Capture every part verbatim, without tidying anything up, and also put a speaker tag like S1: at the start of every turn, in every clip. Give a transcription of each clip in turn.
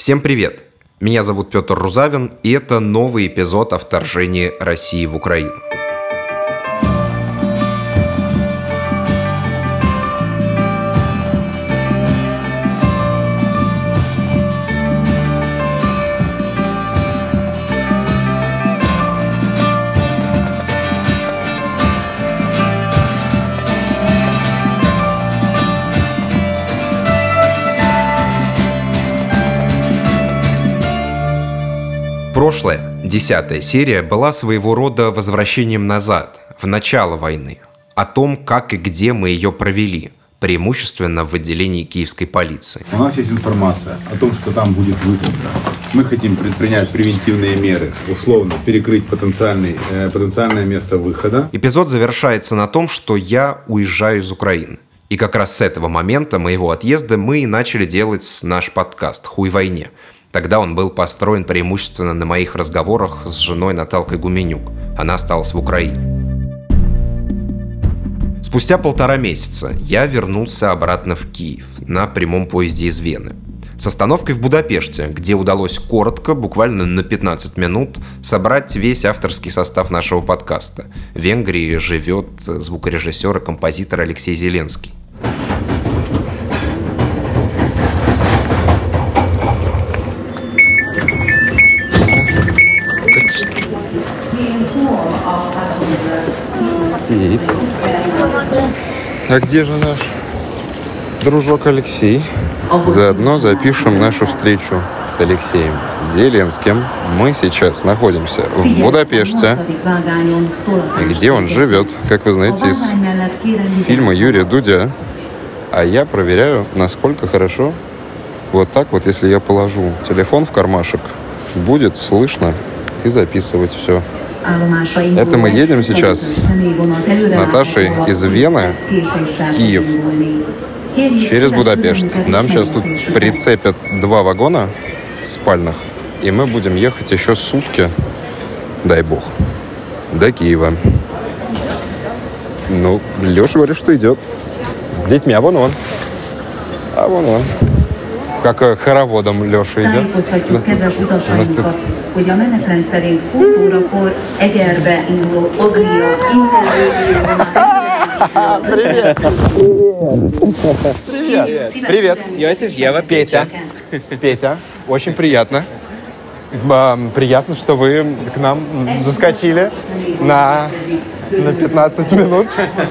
S1: Всем привет! Меня зовут Петр Рузавин, и это новый эпизод о вторжении России в Украину. Прошлая, десятая серия, была своего рода возвращением назад, в начало войны, о том, как и где мы ее провели, преимущественно в отделении киевской полиции.
S2: У нас есть информация о том, что там будет высадка. Мы хотим предпринять превентивные меры, условно перекрыть потенциальный, э, потенциальное место выхода.
S1: Эпизод завершается на том, что я уезжаю из Украины. И как раз с этого момента моего отъезда мы и начали делать наш подкаст «Хуй войне». Тогда он был построен преимущественно на моих разговорах с женой Наталкой Гуменюк. Она осталась в Украине. Спустя полтора месяца я вернулся обратно в Киев на прямом поезде из Вены. С остановкой в Будапеште, где удалось коротко, буквально на пятнадцать минут, собрать весь авторский состав нашего подкаста. В Венгрии живет звукорежиссер и композитор Алексей Зеленский.
S3: А где же наш дружок Алексей? Заодно запишем нашу встречу с Алексеем Зеленским. Мы сейчас находимся в Будапеште, где он живет, как вы знаете, из фильма Юрия Дудя. А я проверяю, насколько хорошо. Вот так вот, если я положу телефон в кармашек, будет слышно и записывать все. Это мы едем сейчас с Наташей из Вены в Киев через Будапешт. Нам сейчас тут прицепят два вагона спальных, и мы будем ехать еще сутки, дай бог, до Киева. Ну, Леша говорит, что идет. С детьми, а вон он. А вон он. Как хороводом Леша идет. У нас тут, у нас тут... hogy a menetrend szerint húsz órakor Egerbe induló Adria Привет! Привет! Привет!
S4: Йосиф, Ева,
S3: Петя. Петя, очень приятно. Приятно, что вы к нам заскочили на, на пятнадцать минут.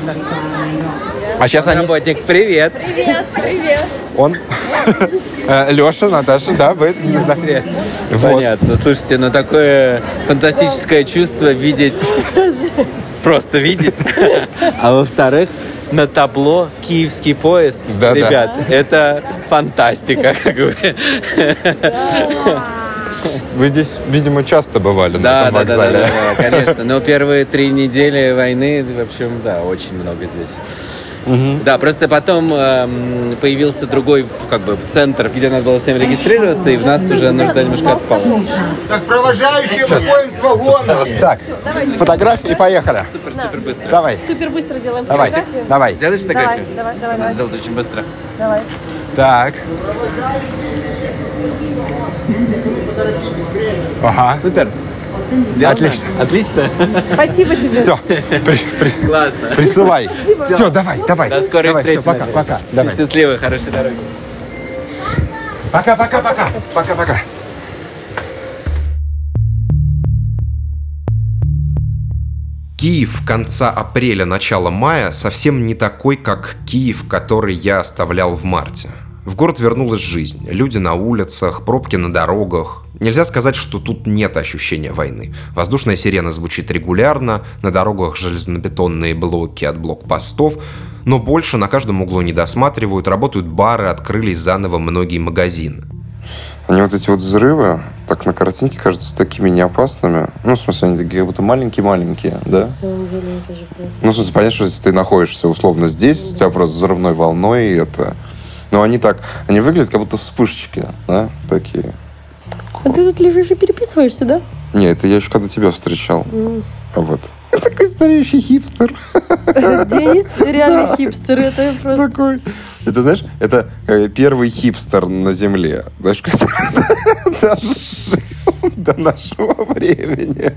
S4: А сейчас они... Работник, привет!
S5: Привет, привет!
S3: Он... Леша, Наташа, да, вы не знаю.
S4: Вот. Понятно. Слушайте, ну такое фантастическое чувство видеть, просто видеть. А во-вторых, на табло киевский поезд.
S3: Да,
S4: ребят,
S3: да.
S4: Это фантастика, как бы.
S3: Вы здесь, видимо, часто бывали
S4: да,
S3: на этом
S4: да,
S3: вокзале.
S4: Да, да, да, конечно. Но первые три недели войны, в общем, да, очень много здесь. Угу. Да, просто потом э, появился другой как бы центр, где надо было всем регистрироваться, и в нас уже нужда немножко отпала.
S6: Так, провожающие выходим с вагона.
S3: Так, фотографии и поехали.
S4: Супер, супер быстро.
S3: Давай.
S5: Супер быстро делаем
S3: Давай,
S5: фотографию.
S3: давай.
S4: Делаешь фотографию?
S5: Давай, давай, давай.
S4: Надо сделать очень быстро.
S5: Давай.
S3: Так. Ага.
S4: Супер. Сделано?
S3: Отлично.
S4: Отлично.
S5: Спасибо тебе.
S3: Все, при, при,
S4: Классно.
S3: присылай. Все. все, давай, давай.
S4: До скорой
S3: давай,
S4: встречи.
S3: Все, пока, пока. Давай.
S4: Счастливой, хорошей дороги.
S3: Пока, пока, пока. Пока, пока.
S1: Киев конца апреля, начала мая совсем не такой, как Киев, который я оставлял в марте. В город вернулась жизнь. Люди на улицах, пробки на дорогах. Нельзя сказать, что тут нет ощущения войны. Воздушная сирена звучит регулярно, на дорогах железнобетонные блоки от блокпостов, но больше на каждом углу не досматривают, работают бары, открылись заново многие магазины.
S3: Они вот эти вот взрывы, так на картинке кажутся такими неопасными. Ну, в смысле, они такие как будто маленькие-маленькие, да?
S5: На самом деле это же просто...
S3: Ну, в смысле, понятно, что если ты находишься условно здесь, у тебя просто взрывной волной, и это... Но они так, они выглядят как будто вспышечки, да, такие.
S5: А ты тут лежишь и переписываешься, да?
S3: Не, это я еще когда тебя встречал.
S5: Mm.
S3: Вот. Такой стареющий хипстер.
S5: Денис реально хипстер, это просто...
S3: Такой. Это, знаешь, это первый хипстер на Земле. Знаешь, который дожил до нашего времени.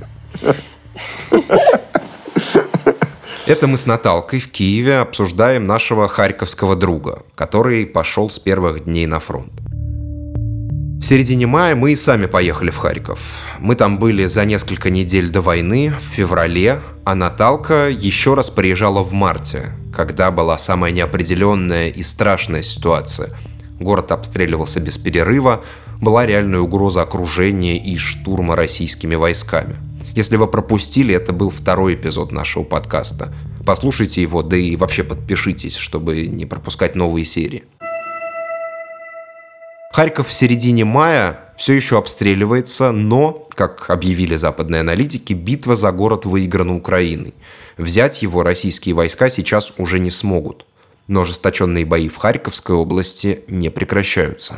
S1: Это мы с Наталкой в Киеве обсуждаем нашего харьковского друга, который пошел с первых дней на фронт. В середине мая мы и сами поехали в Харьков. Мы там были за несколько недель до войны, в феврале, а Наталка еще раз приезжала в марте, когда была самая неопределенная и страшная ситуация. Город обстреливался без перерыва, была реальная угроза окружения и штурма российскими войсками. Если вы пропустили, это был второй эпизод нашего подкаста. Послушайте его, да и вообще подпишитесь, чтобы не пропускать новые серии. Харьков в середине мая все еще обстреливается, но, как объявили западные аналитики, битва за город выиграна Украиной. Взять его российские войска сейчас уже не смогут. Но ожесточенные бои в Харьковской области не прекращаются.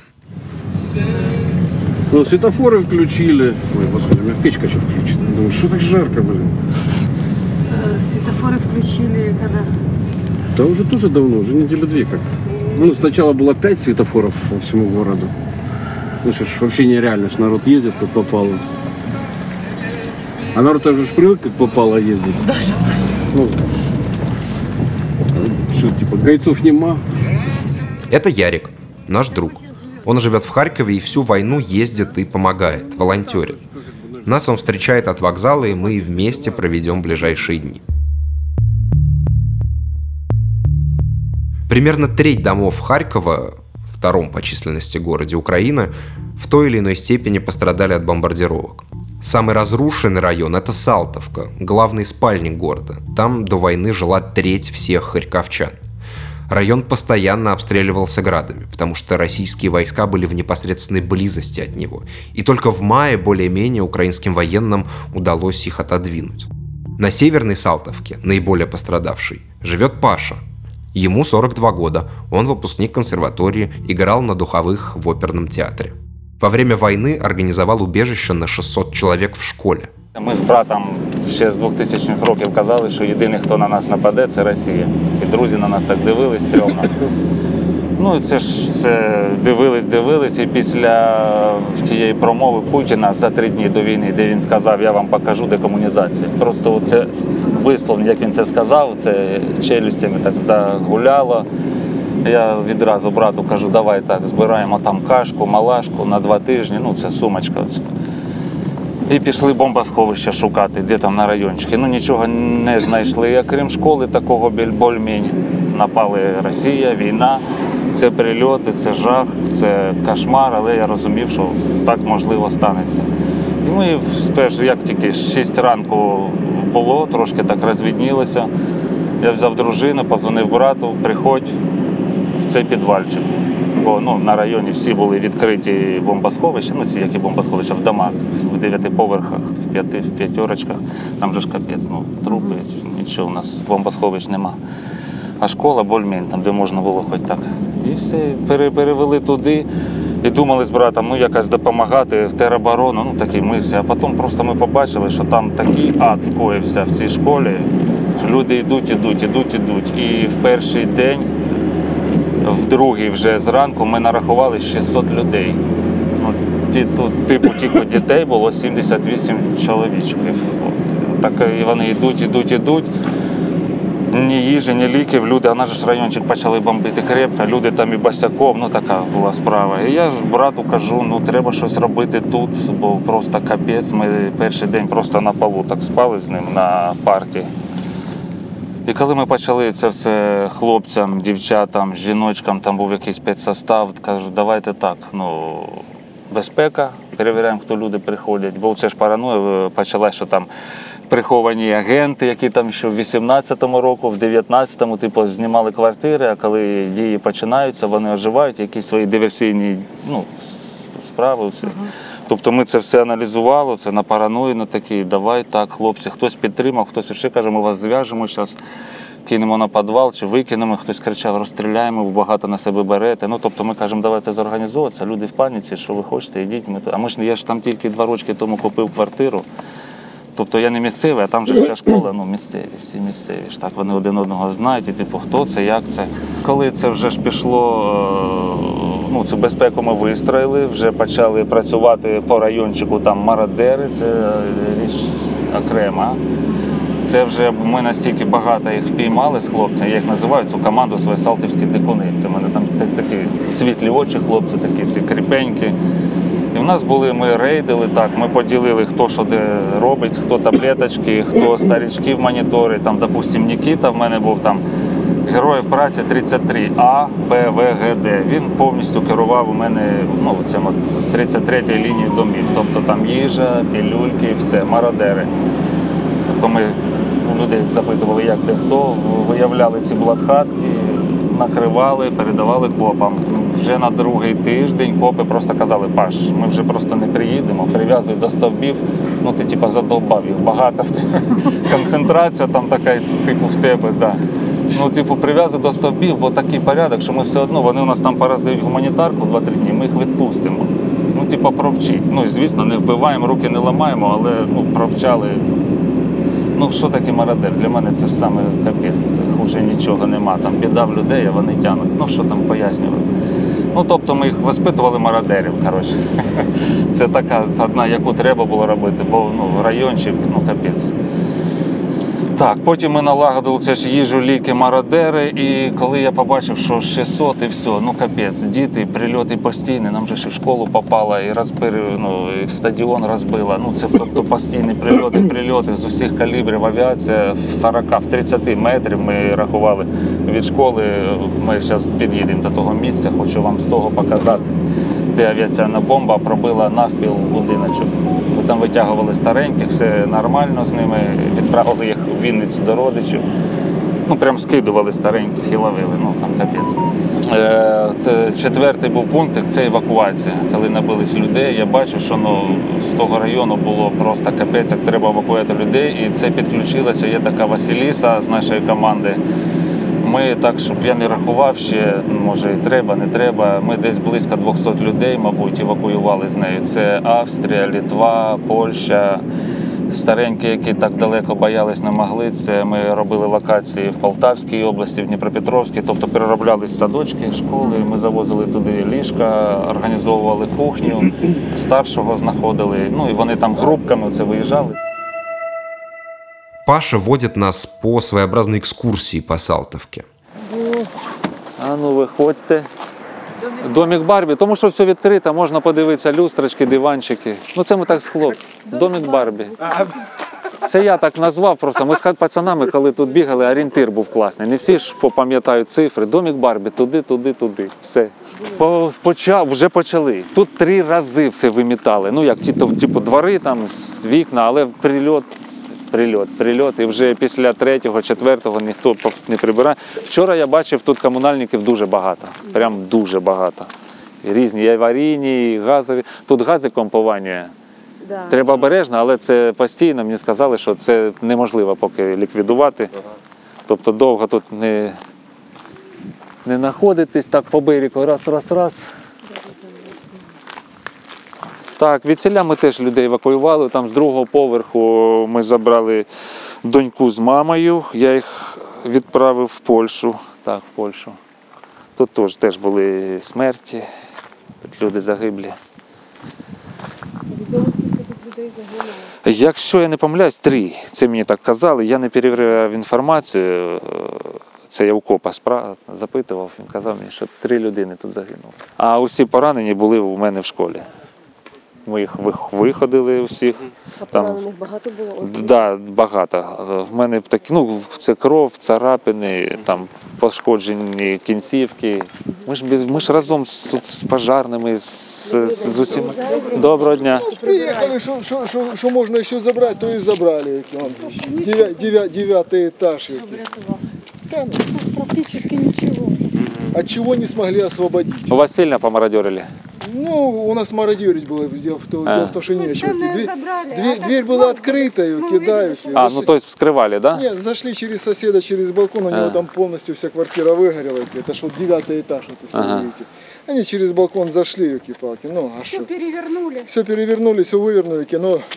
S7: Ну, светофоры включили. Ой, господи, у меня печка еще включена. Думаю, что так жарко, блин?
S5: Светофоры включили когда?
S7: Да уже тоже давно, уже недели две как. Ну, сначала было пять светофоров по всему городу. Ну, что ж, вообще нереально, что народ ездит, как попало. А народ тоже ж привык, как попало ездить. Ну, что, типа, гайцов нема.
S1: Это Ярик, наш друг. Он живет в Харькове и всю войну ездит и помогает, волонтерит. Нас он встречает от вокзала, и мы вместе проведем ближайшие дни. Примерно треть домов Харькова, втором по численности городе Украины, в той или иной степени пострадали от бомбардировок. Самый разрушенный район – это Салтовка, главный спальник города. Там до войны жила треть всех харьковчан. Район постоянно обстреливался градами, потому что российские войска были в непосредственной близости от него. И только в мае более-менее украинским военным удалось их отодвинуть. На северной Салтовке, наиболее пострадавшей, живет Паша. Ему сорок два года, он выпускник консерватории, играл на духовых в оперном театре. Во время войны организовал убежище на шістсот чоловік в школі.
S8: Ми з братом ще з двохтисячних років казали, що єдиний, хто на нас нападе, це Росія. І друзі на нас так дивились стрьомно. Ну, це ж все дивились, дивились, і після тієї промови Путіна за три дні до війни, де він сказав, я вам покажу декомунізацію. Просто оце висловлення, як він це сказав, це челюстями так загуляло. Я відразу брату кажу, давай так, збираємо там кашку, малашку на два тижні, ну це сумочка. Оце. І пішли бомбосховища шукати, де там на райончики. Ну нічого не знайшли, крім школи такого більш-менш. Напали Росія, війна, це прильоти, це жах, це кошмар, але я розумів, що так можливо станеться. І ми спершу, як тільки шість ранку було, трошки так розвіднілося, я взяв дружину, подзвонив брату, приходь в цей підвальчик. Бо ну, на районі всі були відкриті бомбосховища, ну ці які бомбосховища в домах, в дев'яти поверхах, в п'яти, в п'ятерочках, там же ж капець, ну трупи, нічого, у нас бомбосховищ нема. А школа більш-менш, там де можна було хоч так. І все, перевели туди і думали з братом, ну якось допомагати в тероборону, ну такі мислі. А потім просто ми побачили, що там такий ад коївся в цій школі, що люди йдуть, йдуть, йдуть, йдуть. І в перший день, в другий вже зранку ми нарахували шістсот людей. Ну, ті, тут, типу тільки дітей було сімдесят вісім чоловічків. Так і вони йдуть, йдуть, йдуть. Ні їжі, ні ліків, люди, а наш ж райончик почали бомбити крепко, люди там і босяком, ну така була справа. І я ж брату кажу, ну треба щось робити тут, бо просто капець, ми перший день просто на полу так спали з ним на парті. І коли ми почали це все хлопцям, дівчатам, жіночкам, там був якийсь спецсостав, кажу, давайте так, ну, безпека, перевіряємо, хто люди приходять, бо це ж параноя почала, що там приховані агенти, які там ще в вісімнадцятому року, в дев'ятнадцятому, типу, знімали квартири, а коли дії починаються, вони оживають, якісь свої диверсійні, ну, справи, все. Тобто ми це все аналізували, це на параної, на такі, давай так, хлопці, хтось підтримав, хтось ще каже, ми вас зв'яжемо, зараз кинемо на підвал чи викинемо, хтось кричав, розстріляємо, ви багато на себе берете. Ну, тобто ми кажемо, давайте зорганізовуватися, люди в паніці, що ви хочете, йдіть. Ми... А ми ж, я ж там тільки два роки тому купив квартиру, тобто я не місцевий, а там же вся школа, ну місцеві, всі місцеві ж так, вони один одного знають, і типу, хто це, як це. Коли це вже ж пішло, ну цю безпеку ми вистроїли, вже почали працювати по райончику, там мародери, це річ окрема. Це вже ми настільки багато їх впіймали з хлопцями, я їх називаю цю команду свої салтівські дикуни. Це в мене там такі світлі очі хлопці, такі всі кріпенькі. І в нас були, ми рейдили так, ми поділили, хто що де робить, хто таблеточки, хто старічків монітори, там, допустим, Нікіта в мене був там героїв праці тридцять три А, Б, В, Г, Д. Він повністю керував у мене, ну, цим от тридцять третій лінії домів. Тобто там їжа, пілюльки, все, мародери. Тобто ми у людей запитували, як де хто, виявляли ці бладхатки, накривали, передавали копам. Вже на другий тиждень копи просто казали: Паш, ми вже просто не приїдемо, прив'язуй до стовбів, ну ти типу задовбав їх, багато в тебе. Концентрація там така, типу в тебе, да. Ну, типу, прив'язуй до стовбів, бо такий порядок, що ми все одно, вони у нас там пороздають гуманітарку два-три дні, ми їх відпустимо. Ну, типу, провчи. Ну, звісно, не вбиваємо, руки не ламаємо, але, ну, провчали. Ну, що таке мародер? Для мене це ж саме капець, це хуже нічого нема. Там біда в людей, а вони тягнуть. Ну, що там пояснювати? Ну, тобто ми їх воспитували мародерів, коротше. Це така одна, яку треба було робити, бо, ну, райончик, ну, капець. Так, потім ми налагодили це ж їжу, ліки, мародери, і коли я побачив, що шістсот і все, ну капець, діти, прильоти постійні, нам же ж і в школу попало, і розбили, ну, і в стадіон розбила, ну це тобто постійні прильоти, прильоти з усіх калібрів, авіація в сорок, в тридцять метрів ми рахували від школи, ми зараз під'їдемо до того місця, хочу вам з того показати, де авіаційна бомба пробила навпіл будиночок. Ми там витягували стареньких, все нормально з ними, відправили їх в Вінницю до родичів. Ну, прям скидували стареньких і ловили, ну там капець. Е, четвертий був пункт, це евакуація. Коли набились людей, я бачу, що ну, з того району було просто капець, як треба евакуювати людей. І це підключилася, є така Василіса з нашої команди. Ми так, щоб я не рахував ще, може і треба, не треба, ми десь близько двісті людей, мабуть, евакуювали з нею. Це Австрія, Литва, Польща, старенькі, які так далеко боялись, не могли. Це ми робили локації в Полтавській області, в Дніпропетровській, тобто перероблялись садочки, школи, ми завозили туди ліжка, організовували кухню, старшого знаходили, ну і вони там групками це виїжджали.
S1: Паша водит нас по своеобразной экскурсии по Салтовке.
S8: А ну виходьте. Домик Барбі, тому що все відкрито, можна подивитися люстрочки, диванчики. Ну це ми так з хлоп. Домик Барбі. Це я так назвав просто. Ми з пацанами, коли тут бігали, орієнтир був класний. Не всі ж пам'ятають цифри. Домик Барбі, туди, туди, туди. Все. Почав, вже почали. Тут три рази все вимітали. Ну як, типу двори, там, вікна, але прильот. Прильот, прильот, і вже після третього, четвертого ніхто не прибирає. Вчора я бачив, тут комунальників дуже багато, прям дуже багато. І різні, і аварійні, і газові. Тут гази компонування. Да. Треба обережно, але це постійно, мені сказали, що це неможливо поки ліквідувати. Тобто довго тут не, не знаходитись, так по берегу, раз, раз, раз. Так, відсіля ми теж людей евакуювали, там з другого поверху ми забрали доньку з мамою, я їх відправив в Польщу, так, в Польщу. Тут теж, теж були смерті, тут люди загиблі.
S5: Відомо, скільки тут людей загинуло?
S8: Якщо я не помиляюсь, три, це мені так казали, я не перевіряв інформацію, це я у копа запитував, він казав мені, що три людини тут загинули. А усі поранені були у мене в школі. Ми їх виходили всіх.
S5: А поранених багато було?
S8: Так, да, багато. В мене такі, ну, це кров, царапини, там пошкоджені кінцівки. Ми ж, ми ж разом з, з пожарними, з, з, з усіма. Доброго дня.
S6: Приїхали, що, що, що, що можна ще забрати, то і забрали. Дев'ятий етаж.
S5: Там практично нічого.
S6: От чего не смогли освободить?
S8: У вас сильно помародерили?
S6: Ну, у нас мародерить было, дело в том,
S8: а.
S6: что нечего.
S5: Дверь,
S6: дверь, дверь была открыта, и кидают.
S8: А, ну то есть вскрывали, да?
S6: Нет, зашли через соседа, через балкон, у него а. там полностью вся квартира выгорела. Это ж вот девятый этаж, вот, если ага. видите. Они через балкон зашли, елки-палки. Ну, а
S5: все
S6: что?
S5: перевернули.
S6: Все перевернули, все вывернули, но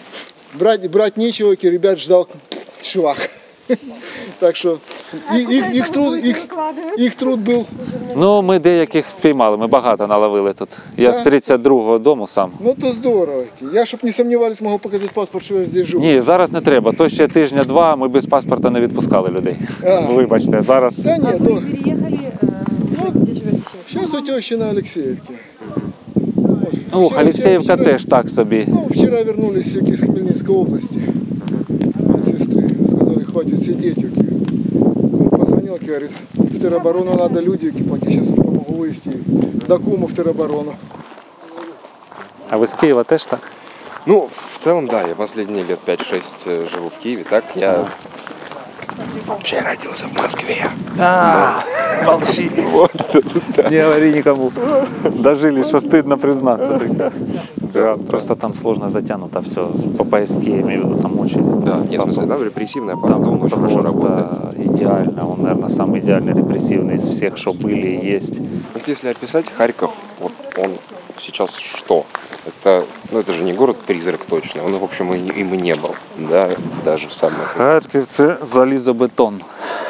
S6: брать, брать нечего, ребят ждал швах. Так що їх, їх, їх, труд, їх, їх труд був.
S8: Ну, ми деяких впіймали, ми багато наловили тут. Я з тридцять другого дому сам.
S6: Ну то здорово. Я, щоб не сомневались, можу показати паспорт, що я здесь живу.
S8: Ні, зараз не треба. То ще тижня-два ми без паспорта не відпускали людей.
S6: А.
S8: Вибачте, зараз.
S6: Та ні, то...
S5: Переехали, э, где живете сейчас?
S6: Зараз у тещи на Олексіївці.
S8: Ух, Олексіївка
S6: вчора,
S8: теж так собі.
S6: Ну, вчора вернулись из Хмельницкой области. От сестры. Сказали, хватит сидеть. Он позвонил, говорит, в тероборону надо люди платить. Сейчас помогу вывести до Кума в тероборону.
S8: А ви з Києва теж так?
S3: Ну, в целом, да, я последние лет пять-шесть живу в Киеве. Так, я вообще родился в Москве.
S8: А, молчи. Не говори никому. Дожили, что стыдно признаться. Да, просто там сложно затянуто все. По поиске, я имею в виду, там очень...
S3: Да, нет, в смысле, да, репрессивный аппарат, он очень хорошо работает.
S8: Идеально, он, наверное, самый идеальный репрессивный из всех, что были и есть.
S3: Вот если описать Харьков, вот он сейчас что? Это, ну, это же не город-призрак точно, он, в общем, и, им и не был, да, даже в самых...
S8: Харків – це залізобетон.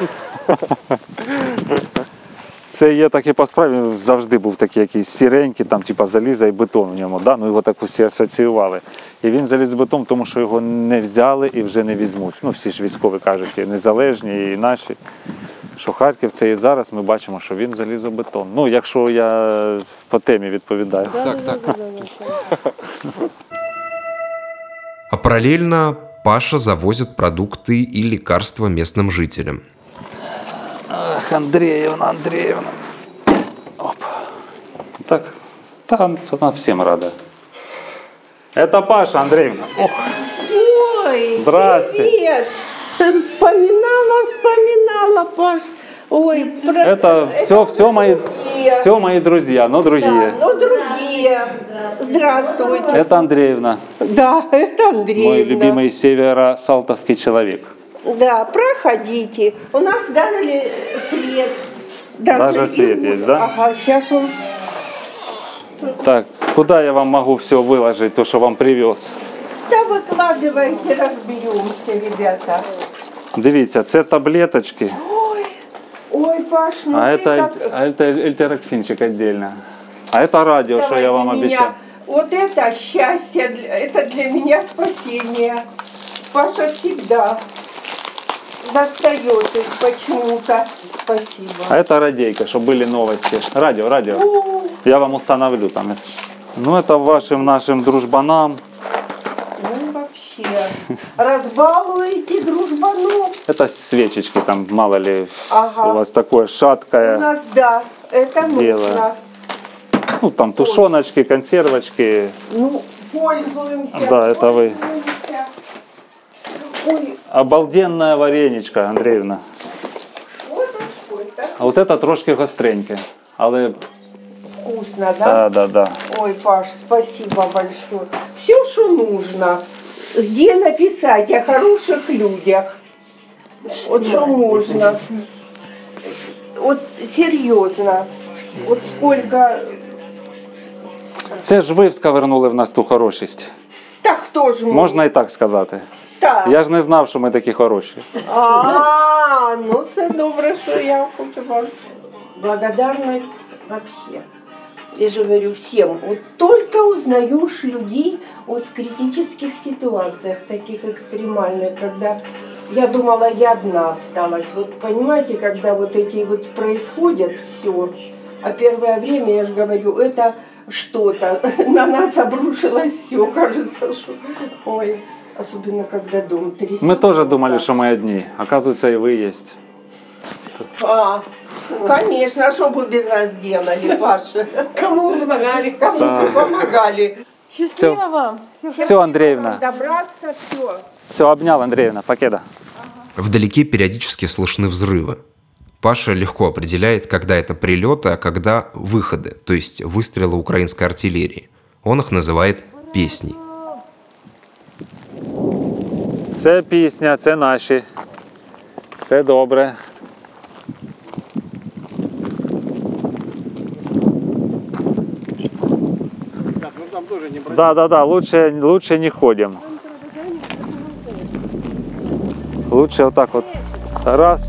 S8: Це є так і по справі, завжди був такий якийсь сіренький, там, типа заліза і бетон у ньому, да? Ну його так усі асоціювали. І він залізобетон, тому що його не взяли і вже не візьмуть. Ну всі ж військові кажуть, і незалежні, і наші. Що Харків це і зараз ми бачимо, що він залізобетон. Ну, якщо я по темі відповідаю.
S5: Да,
S3: Так,
S5: да,
S3: так.
S5: да, да, да, да.
S1: А параллельно Паша завозит продукты и лекарства местным жителям.
S8: Ах, Андреевна, Андреевна. Оп. Так, там она всем рада. Это Паша, Андреевна. Ох.
S9: Ой,
S8: Здрасте.
S9: привет. Вспоминала, вспоминала, Паш. Ой, про...
S8: Это все, все мои,
S9: другие.
S8: все мои друзья, но другие.
S9: Да, ну другие. Здравствуйте.
S8: Это Андреевна,
S9: Да, это Андреевна.
S8: мой любимый северо-салтовский человек.
S9: Да, проходите. У нас дали свет.
S8: Даже свет есть, да?
S9: Ага, сейчас он...
S8: Так, куда я вам могу все выложить, то, что вам привез?
S9: Да выкладывайте, разберемся, ребята.
S8: Дивіться, це таблеточки,
S9: Ой, ой, Паш, ну
S8: а
S9: ты
S8: это,
S9: как...
S8: а это эльтероксинчик отдельно. А это радио, что
S9: Давай
S8: я вам
S9: для
S8: обещал.
S9: меня. Вот это счастье, для- это для меня спасение. Паша всегда достает их почему-то. Спасибо.
S8: А это радейка, чтобы были новости. Радио, радио.
S9: О,
S8: Я вам установлю там. Ну, это вашим нашим дружбанам.
S9: ну вообще, разбалуете дружбанов.
S8: Это свечечки, там, мало ли,
S9: Ага.
S8: у вас такое
S9: У
S8: шаткое.
S9: нас, да, это
S8: Дело.
S9: нужно.
S8: Ну, там тушеночки, консервочки.
S9: Ну, пользуемся.
S8: Да, это вы.
S9: пользуемся. Ой,
S8: Обалденная вареничка, Андреевна.
S9: вот это сколько.
S8: А вот это трошки гостреньке. Але
S9: Вкусно, да?
S8: да, да, да.
S9: Ой, Паш, спасибо большое. Все, что нужно. Где написать о хороших людях? Вот что можно. Вот серьезно. Вот сколько...
S8: Це ж ви сковернули в нас ту хорошість.
S9: Да кто ж может?
S8: Можна і так сказати.
S9: Так.
S8: Я ж не знав, що ми такі хороші.
S9: А, ну це добре, що я хочу вам. Благодарность вообще. Я же говорю всем, вот только узнаешь людей вот в критических ситуациях, таких экстремальных, когда я думала, я одна осталась. Вот понимаете, когда вот эти вот происходят все, а первое время, я же говорю, это что-то, на нас обрушилось все, кажется, что, ой, особенно когда дом трясет.
S8: Ми теж думали, що ми одні. Оказується, і ви є.
S9: А, конечно, а что бы без нас делали, Паша? Кому вы помогали, кому вы помогали?
S5: Счастливо
S8: Всё.
S5: вам.
S8: Все, Андреевна.
S9: Добраться, все.
S8: Все, обнял, Андреевна. Покеда.
S1: Вдалеке периодически слышны взрывы. Паша легко определяет, когда это прилеты, а когда выходы, то есть выстрелы украинской артиллерии. Он их называет песней.
S8: Це пісня, це наші. Все добре.
S7: Так, ну там тоже не брать.
S8: Да, да, да, лучше, лучше не ходим. Лучше вот так вот раз.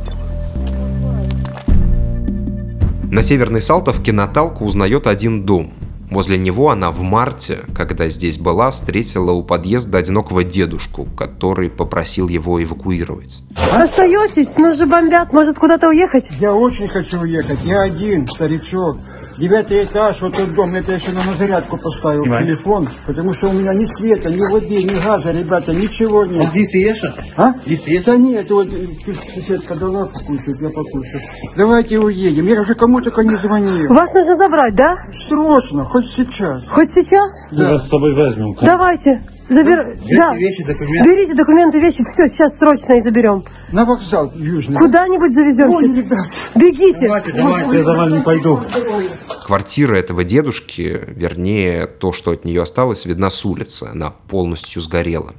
S1: На Северной Салтовке Наталка узнает один дом. Возле него она в марте, когда здесь была, встретила у подъезда одинокого дедушку, который попросил его эвакуировать.
S10: Остаетесь? Нас же бомбят. Может, куда-то уехать?
S11: Я очень хочу уехать. Я один, старичок. Девятый этаж, вот этот дом. Это я еще на зарядку поставил. Снимай. Телефон. Потому что у меня ни света, ни воды, ни газа, ребята, ничего нет.
S4: А здесь ешь?
S11: А? Здесь ешь? Да нет, вот соседка дала покушать, я покушаю. Давайте уедем. Я уже кому только не звонил.
S10: Вас нужно забрать, да?
S11: Срочно, хоть сейчас.
S10: Хоть сейчас?
S11: Да.
S12: Мы вас с собой возьмем.
S10: Давайте. Забер... Да.
S4: Вещи, документы.
S10: Берите документы, вещи. Все, сейчас срочно и заберем.
S11: На вокзал южный.
S10: Куда-нибудь завезем.
S11: Ой, ребят.
S10: Бегите.
S12: Давайте, давайте, я за вами не пойду.
S1: Квартира этого дедушки, вернее, то, что от нее осталось, видна с улицы. Она полностью сгорела.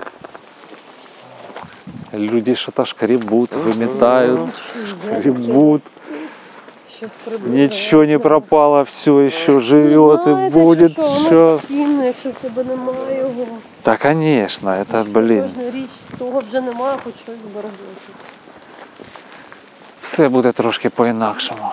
S8: Люди что-то шкребут, выметают, шкребут. Ничего не пропало, все еще живет и будет сейчас.
S5: Якщо в тебе немає його.
S8: Да, конечно, это, блин.
S5: Кожна річ, того вже немає, хоч щось зберегти.
S8: Все буде трошки по-інакшому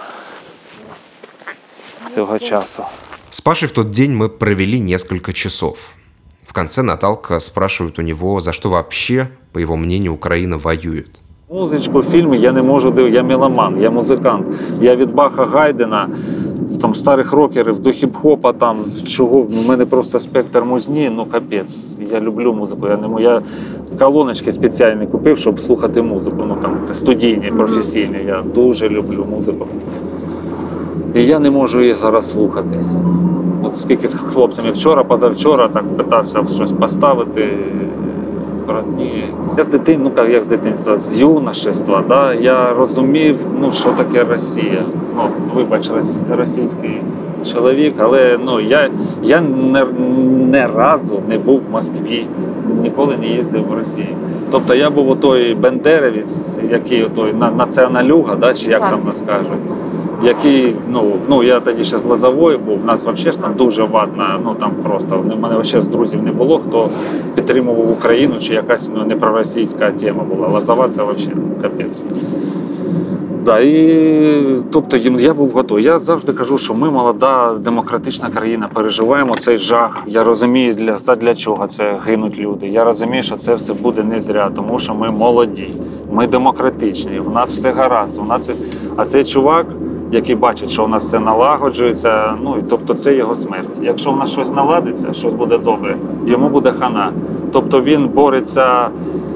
S8: з цього часу.
S1: С Пашей в тот день мы провели несколько часов. В конце Наталка спрашивает у него, за что вообще, по его мнению, Украина воюет.
S8: Музичку, фільми я не можу дивитися, я меломан, я музикант. Я від Баха, Гайдена, там, старих рокерів до хіп-хопа, там, чого, в мене просто спектр музні, ну капець. Я люблю музику, я не я колоночки спеціальні купив, щоб слухати музику, ну там студійні, професійні, я дуже люблю музику. І я не можу її зараз слухати. От скільки з хлопцями вчора, позавчора так питався щось поставити. Ні. Я з дитин, ну як з дитинства, з юношества, да, я розумів, ну, що таке Росія. Ну, вибач, російський чоловік, але ну, я, я не, не разу не був в Москві, ніколи не їздив в Росію. Тобто я був отой бендерівець, який отой націоналюга, да, чи як там нас кажуть. Який, ну, ну, я тоді ще з Лозової був, в нас взагалі ж там дуже вадна, ну там просто, в мене взагалі з друзів не було, хто підтримував Україну, чи якась ну, не проросійська тема була. Лозова це взагалі капець. Да, і, тобто я був готовий. Я завжди кажу, що ми молода, демократична країна, переживаємо цей жах. Я розумію, для, для чого це гинуть люди. Я розумію, що це все буде не зря, тому що ми молоді, ми демократичні, в нас все гаразд. У нас... А цей чувак, який бачить, що у нас все налагоджується, ну, і, тобто це його смерть. Якщо в нас щось наладиться, щось буде добре, йому буде хана. Тобто він бореться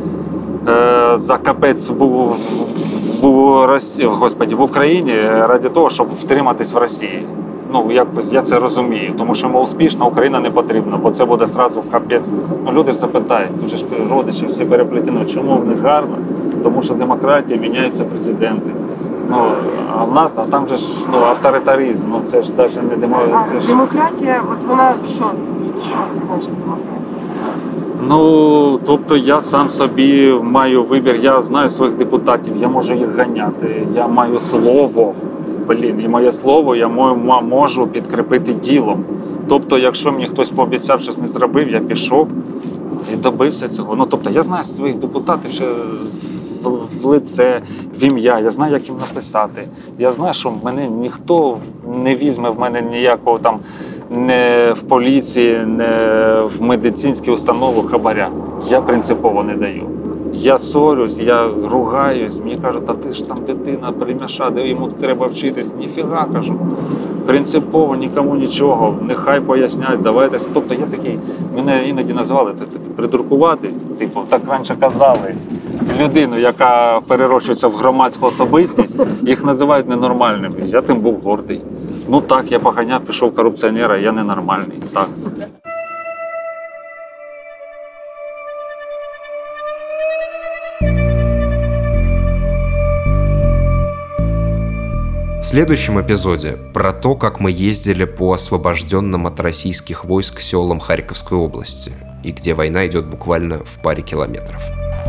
S8: е, за капець в, в, в, Росії, Господи, в Україні ради того, щоб втриматись в Росії. Ну, якось я це розумію, тому що йому успішна Україна не потрібна, бо це буде зразу капець. Ну, люди ж запитають, тут же ж родичі всі переплетено, чому в них гарно? Тому що демократія, міняються президенти. Ну, а в нас, а там же ж ну, авторитаризм, ну це ж навіть не демократія.
S9: А демократія, от вона що? Що значить демократія?
S8: Ну, тобто я сам собі маю вибір, я знаю своїх депутатів, я можу їх ганяти, я маю слово, блін, і моє слово я можу підкріпити ділом. Тобто, якщо мені хтось пообіцяв, щось не зробив, я пішов і добився цього. Ну, тобто, я знаю своїх депутатів ще в лице, в ім'я, я знаю, як їм написати. Я знаю, що мене ніхто не візьме в мене ніякого там не в поліції, не в медицинській установі хабаря. Я принципово не даю. Я ссорюсь, я ругаюсь, мені кажуть, а ти ж там дитина, примяша, де йому треба вчитись. Ніфіга, кажу. Принципово, нікому нічого, нехай поясняють, давайте. Тобто я такий, мене іноді називали так, придуркувати, типу, так раніше казали. Людину, яка перерощується в громадську особистість, їх називають ненормальними. Я тим був гордий. Ну так, я поганяв, пішов корупціонера, я ненормальний. Так.
S1: В следующем эпизоде про то, как мы ездили по освобожденным от российских войск селам Харьковской области, и где война идет буквально в паре километров.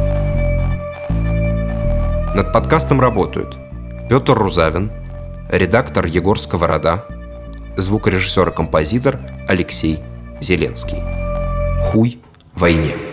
S1: Над подкастом работают Петр Рузавин, редактор Егор Сковорода, звукорежиссер и композитор Алексей Зеленский. Хуй войне.